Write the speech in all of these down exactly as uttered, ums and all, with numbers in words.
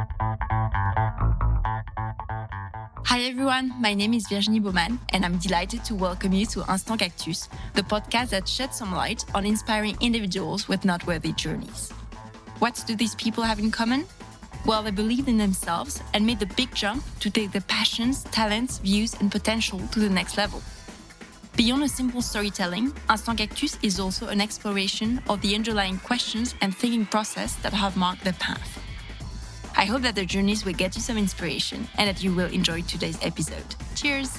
Hi everyone, my name is Virginie Baumann and I'm delighted to welcome you to Instant Cactus, the podcast that sheds some light on inspiring individuals with noteworthy journeys. What do these people have in common? Well, they believed in themselves and made the big jump to take their passions, talents, views and potential to the next level. Beyond a simple storytelling, Instant Cactus is also an exploration of the underlying questions and thinking process that have marked their path. I hope that their journeys will get you some inspiration and that you will enjoy today's episode. Cheers!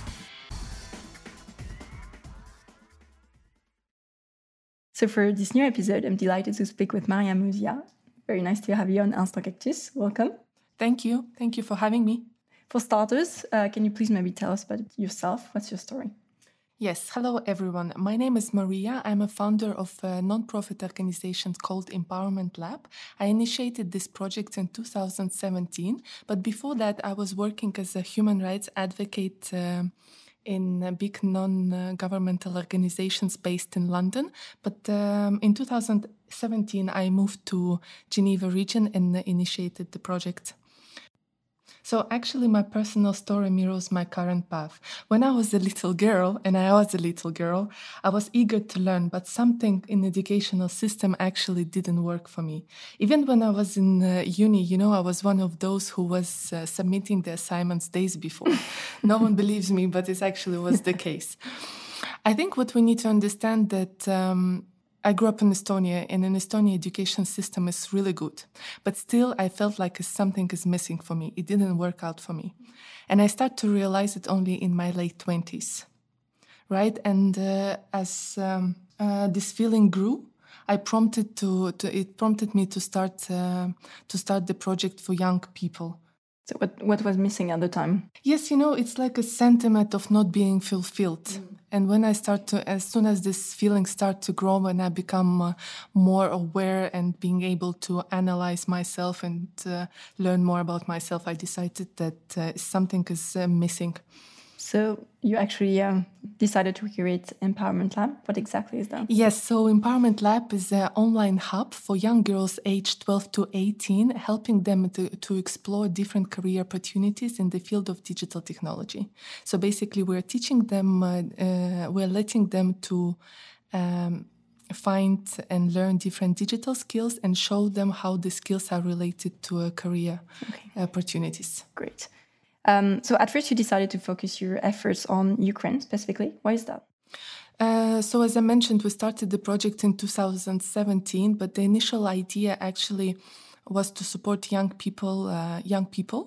So for this new episode, I'm delighted to speak with Maria Muzia. Very nice to have you on Instant Cactus. Welcome. Thank you. Thank you for having me. For starters, uh, can you please maybe tell us about yourself? What's your story? Yes, hello everyone. My name is Maria. I'm a founder of a non-profit organization called Empowerment Lab. I initiated this project in two thousand seventeen, but before that I was working as a human rights advocate uh, in big non-governmental organizations based in London. But um, in two thousand seventeen I moved to Geneva region and initiated the project. So actually my personal story mirrors my current path. When I was a little girl, and I was a little girl, I was eager to learn, but something in the educational system actually didn't work for me. Even when I was in uh, uni, you know, I was one of those who was uh, submitting the assignments days before. No one believes me, but it actually was the case. I think what we need to understand that um, I grew up in Estonia, and in Estonia, education system is really good. But still, I felt like something is missing for me. It didn't work out for me. And I started to realize it only in my late twenties, right? And uh, as um, uh, this feeling grew, I prompted to, to it prompted me to start uh, to start the project for young people. So what, what was missing at the time? Yes, you know, it's like a sentiment of not being fulfilled. Mm. And when I start to, as soon as this feeling start to grow and I become uh, more aware and being able to analyze myself and uh, learn more about myself, I decided that uh, something is uh, missing. So you actually um, decided to create Empowerment Lab. What exactly is that? Yes, so Empowerment Lab is an online hub for young girls aged twelve to eighteen, helping them to, to explore different career opportunities in the field of digital technology. So basically, we're teaching them, uh, uh, we're letting them to um, find and learn different digital skills and show them how the skills are related to uh, career okay. opportunities. Great. Um, so at first you decided to focus your efforts on Ukraine specifically. Why is that? Uh, so as I mentioned, we started the project in two thousand seventeen, but the initial idea actually was to support young people, uh, young people.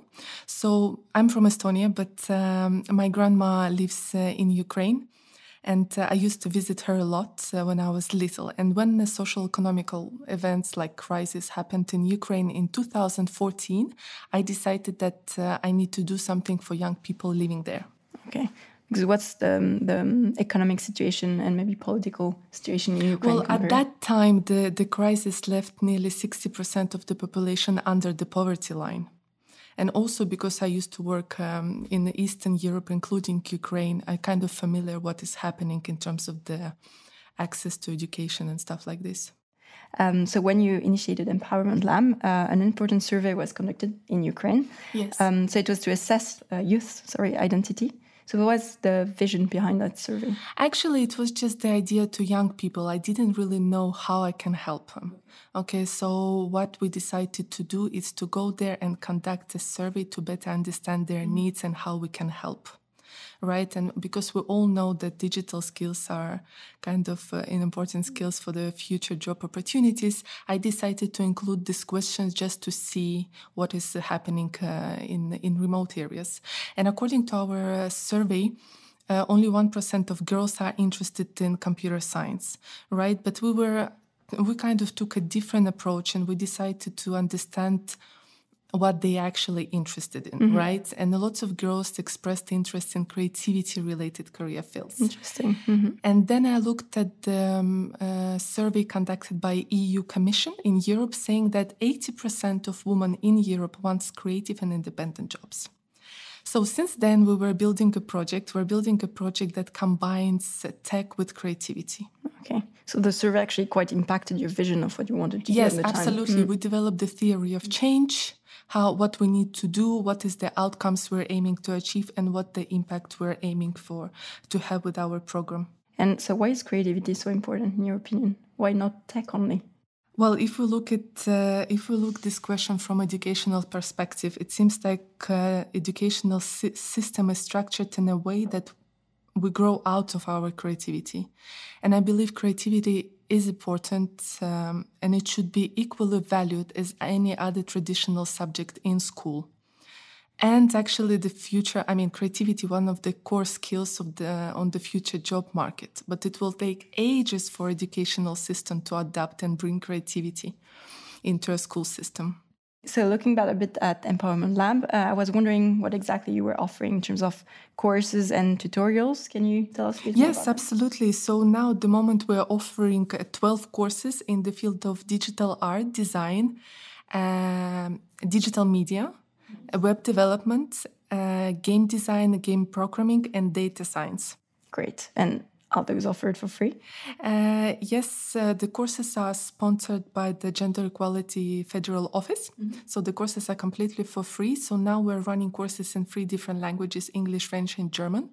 So I'm from Estonia, but um, my grandma lives uh, in Ukraine. And uh, I used to visit her a lot uh, when I was little. And when the social economical events like crisis happened in Ukraine in two thousand fourteen, I decided that uh, I need to do something for young people living there. Okay. Because what's the, the economic situation and maybe political situation in Ukraine? Well, compared? At that time, the, the crisis left nearly sixty percent of the population under the poverty line. And also because I used to work um, in Eastern Europe, including Ukraine, I'm kind of familiar what is happening in terms of the access to education and stuff like this. Um, so when you initiated Empowerment Lab, uh, an important survey was conducted in Ukraine. Yes. Um, so it was to assess uh, youth, sorry, identity. So what was the vision behind that survey? Actually, it was just the idea to young people. I didn't really know how I can help them. Okay, so what we decided to do is to go there and conduct a survey to better understand their needs and how we can help. Right, and because we all know that digital skills are kind of uh, important skills for the future job opportunities, I decided to include these questions just to see what is uh, happening uh, in in remote areas. And according to our uh, survey, uh, only one percent of girls are interested in computer science, right? But we were we kind of took a different approach, and we decided to understand what they actually interested in, mm-hmm. right? And lots of girls expressed interest in creativity-related career fields. Interesting. Mm-hmm. And then I looked at the um, uh, survey conducted by E U Commission in Europe, saying that eighty percent of women in Europe wants creative and independent jobs. So since then, we were building a project. We're building a project that combines tech with creativity. Okay. So the survey actually quite impacted your vision of what you wanted to yes, do at the time. Yes, absolutely. Mm. We developed the theory of change, how what we need to do, what is the outcomes we're aiming to achieve, and what the impact we're aiming for to have with our program. And so why is creativity so important in your opinion? Why not tech only? Well, if we look at uh, if we look this question from educational perspective, it seems like uh, educational si- system is structured in a way that we grow out of our creativity. And I believe creativity is important um, and it should be equally valued as any other traditional subject in school. And actually the future, I mean, creativity, one of the core skills of the on the future job market, but it will take ages for educational system to adapt and bring creativity into a school system. So looking back a bit at Empowerment Lab, uh, I was wondering what exactly you were offering in terms of courses and tutorials. Can you tell us a bit more Yes, about absolutely. So now at the moment we're offering uh, twelve courses in the field of digital art, design, um, digital media, uh, web development, uh, game design, game programming, and data science. Great. And are those offered for free? Uh, yes, uh, the courses are sponsored by the Gender Equality Federal Office. Mm-hmm. So the courses are completely for free. So now we're running courses in three different languages, English, French, and German.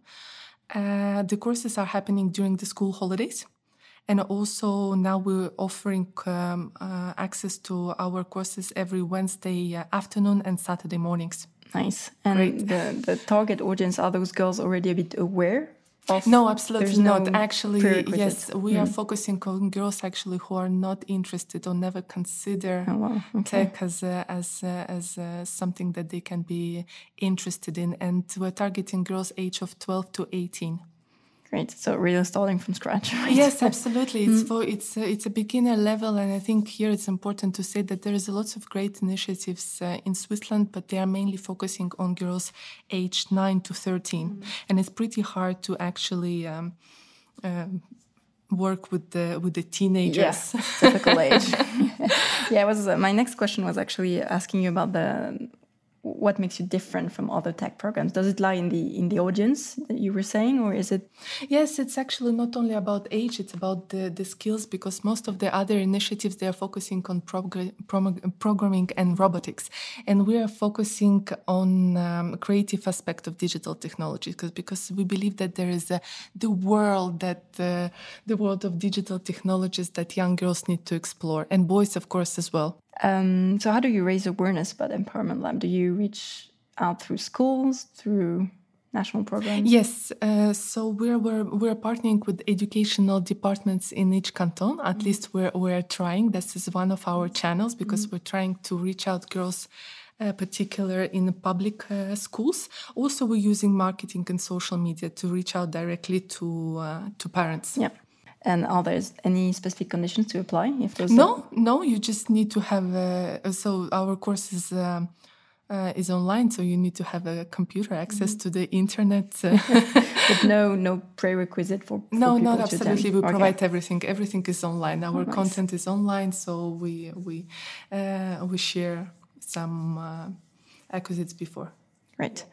Uh, the courses are happening during the school holidays. And also now we're offering um, uh, access to our courses every Wednesday uh, afternoon and Saturday mornings. Nice. And the, the target audience, are those girls already a bit aware? Of, no, absolutely no not. Actually, yes, we mm. are focusing on girls actually who are not interested or never consider oh, wow. okay. tech as a, as a, as a something that they can be interested in, and we're targeting girls age of twelve to eighteen. Great. So really starting from scratch. Right? Yes, absolutely. It's mm. for it's a, it's a beginner level, and I think here it's important to say that there is a lots of great initiatives uh, in Switzerland, but they are mainly focusing on girls aged nine to thirteen, mm. and it's pretty hard to actually um, uh, work with the with the teenagers. Yes, typical age. yeah, it was uh, my next question was actually asking you about the. What makes you different from other tech programs? Does it lie in the in the audience that you were saying, or is it? Yes, it's actually not only about age; it's about the, the skills. Because most of the other initiatives they are focusing on progr- pro- programming and robotics, and we are focusing on um, creative aspect of digital technology. Because because we believe that there is a, the world that uh, the world of digital technologies that young girls need to explore, and boys, of course, as well. Um, so how do you raise awareness about Empowerment Lab? Do you reach out through schools, through national programs? Yes. Uh, so we're, we're we're partnering with educational departments in each canton. At mm-hmm. least we're we're trying. This is one of our channels because mm-hmm. we're trying to reach out girls, uh, particular in public uh, schools. Also, we're using marketing and social media to reach out directly to uh, to parents. Yeah. And are there any specific conditions to apply? If those no, are... no, you just need to have. Uh, so our course is um, uh, is online, so you need to have a computer access mm-hmm. to the internet. Uh. But no, no prerequisite for. for no, people not to absolutely. attend. We okay. provide everything. Everything is online. Our oh, nice. content is online, so we we uh, we share some uh, acquisites before. Right.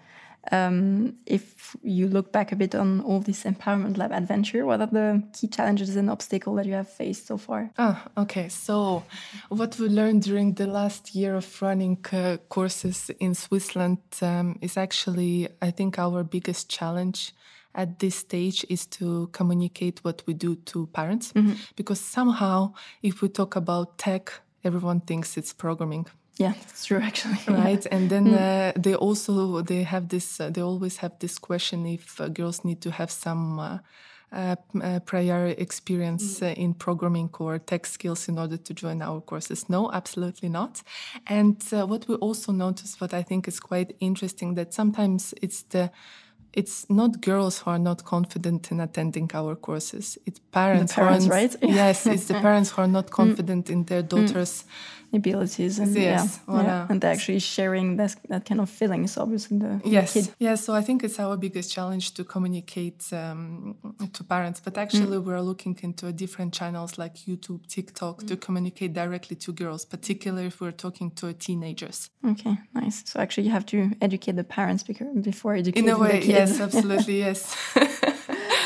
Um, if you look back a bit on all this Empowerment Lab adventure, what are the key challenges and obstacles that you have faced so far? Ah, okay. So what we learned during the last year of running uh, courses in Switzerland um, is actually, I think, our biggest challenge at this stage is to communicate what we do to parents. Mm-hmm. Because somehow, if we talk about tech, everyone thinks it's programming. Yeah, that's true, actually. Right, yeah. and then mm. uh, they also they have this. Uh, they always have this question if uh, girls need to have some uh, uh, uh, prior experience mm. uh, in programming or tech skills in order to join our courses. No, absolutely not. And uh, what we also notice, what I think is quite interesting, that sometimes it's the it's not girls who are not confident in attending our courses. It's parents, the parents, who are, right? Yes, it's the parents who are not confident mm. in their daughters' mm. abilities, and yes, yeah, voilà. yeah, and they're actually sharing that that kind of feelings, obviously. The yes, kid. yeah. So I think it's our biggest challenge to communicate um, to parents. But actually, mm. we're looking into different channels like YouTube, TikTok mm. to communicate directly to girls, particularly if we're talking to teenagers. Okay, nice. So actually, you have to educate the parents before educating in a way, the kids. Yes, absolutely, yes.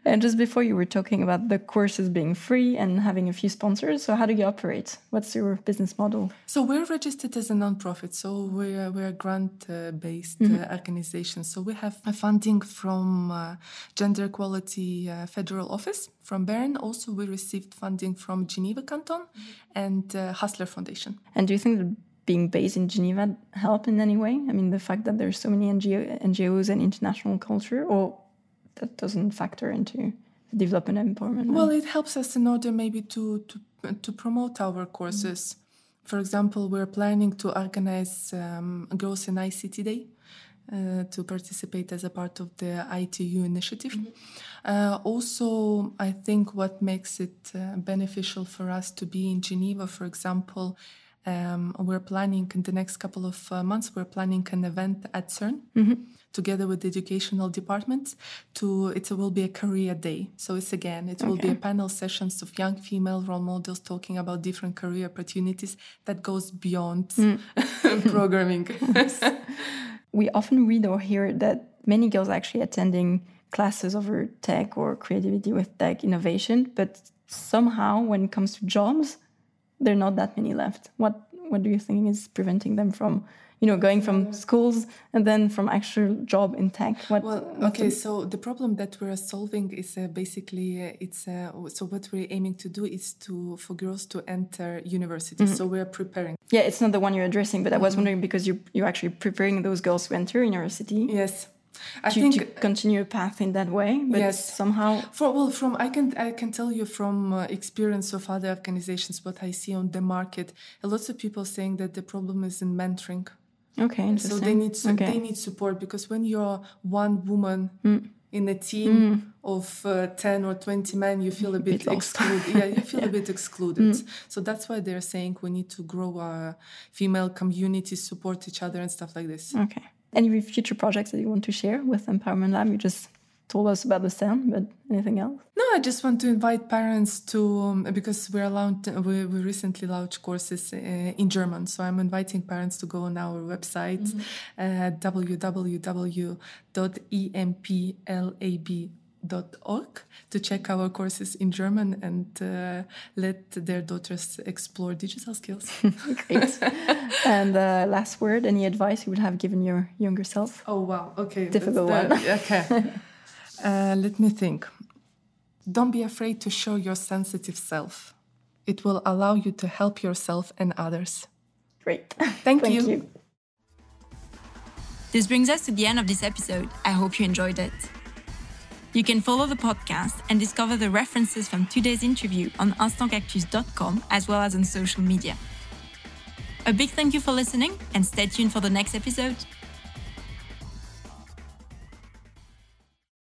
And just before you were talking about the courses being free and having a few sponsors. So how do you operate? What's your business model? So we're registered as a non-profit. So we're, we're a grant-based Mm-hmm. uh, organization. So we have uh, funding from uh, Gender Equality uh, Federal Office from Bern. Also, we received funding from Geneva Canton and uh, Hustler Foundation. And do you think that being based in Geneva help in any way? I mean, the fact that there's so many N G O, N G Os and international culture, or that doesn't factor into the development and empowerment? Well, it helps us in order maybe to, to, to promote our courses. Mm-hmm. For example, we're planning to organize um, Girls in I C T Day uh, to participate as a part of the I T U initiative. Mm-hmm. Uh, also, I think what makes it uh, beneficial for us to be in Geneva, for example, Um, we're planning in the next couple of uh, months, we're planning an event at CERN mm-hmm. together with the educational departments. To It will be a career day. So it's again, it will okay. be a panel sessions of young female role models talking about different career opportunities that goes beyond mm. programming. We often read or hear that many girls are actually attending classes over tech or creativity with tech innovation, but somehow when it comes to jobs, there are not that many left. What what do you think is preventing them from, you know, going from schools and then from actual job in tech? What, well, okay, the... so the problem that we're solving is uh, basically, uh, it's uh, so what we're aiming to do is to for girls to enter university. Mm-hmm. So we're preparing. Yeah, it's not the one you're addressing, but I was wondering because you you're actually preparing those girls to enter university. Yes. I to, think to continue a path in that way, but yes. somehow. For, well, from I can I can tell you from uh, experience of other organizations what I see on the market. A lot of people saying that the problem is in mentoring. Okay, interesting. So they need su- okay. they need support because when you're one woman mm. in a team mm. of uh, ten or twenty men, you feel a bit, bit excluded. yeah, you feel yeah. a bit excluded. Mm. So that's why they're saying we need to grow our female communities, support each other, and stuff like this. Okay. Any future projects that you want to share with Empowerment Lab? You just told us about the stand, but anything else? No, I just want to invite parents to, um, because we're allowed, we, we recently launched courses uh, in German. So I'm inviting parents to go on our website, mm-hmm. uh, w w w dot e m p lab dot org to check our courses in German and uh, let their daughters explore digital skills. Great. And uh, last word, any advice you would have given your younger self? Oh, wow. Okay. Difficult the, one. Okay. uh, let me think. Don't be afraid to show your sensitive self. It will allow you to help yourself and others. Great. Thank, Thank you. you. This brings us to the end of this episode. I hope you enjoyed it. You can follow the podcast and discover the references from today's interview on instant cactus dot com as well as on social media. A big thank you for listening and stay tuned for the next episode.